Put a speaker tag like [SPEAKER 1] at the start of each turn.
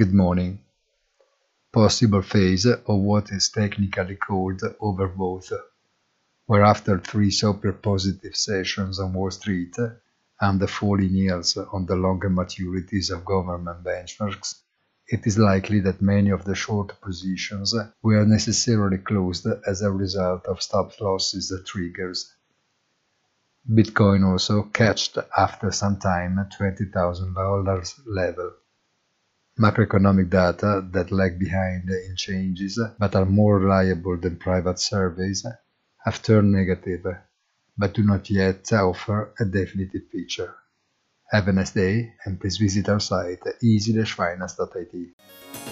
[SPEAKER 1] Good morning. Possible phase of what is technically called overbought, where after three super positive sessions on Wall Street and the falling yields on the longer maturities of government benchmarks, it is likely that many of the short positions were necessarily closed as a result of stop losses triggers. Bitcoin also catched after some time at $20,000 level. Macroeconomic data that lag behind in changes but are more reliable than private surveys have turned negative, but do not yet offer a definitive picture. Have a nice day and please visit our site easy-finance.it.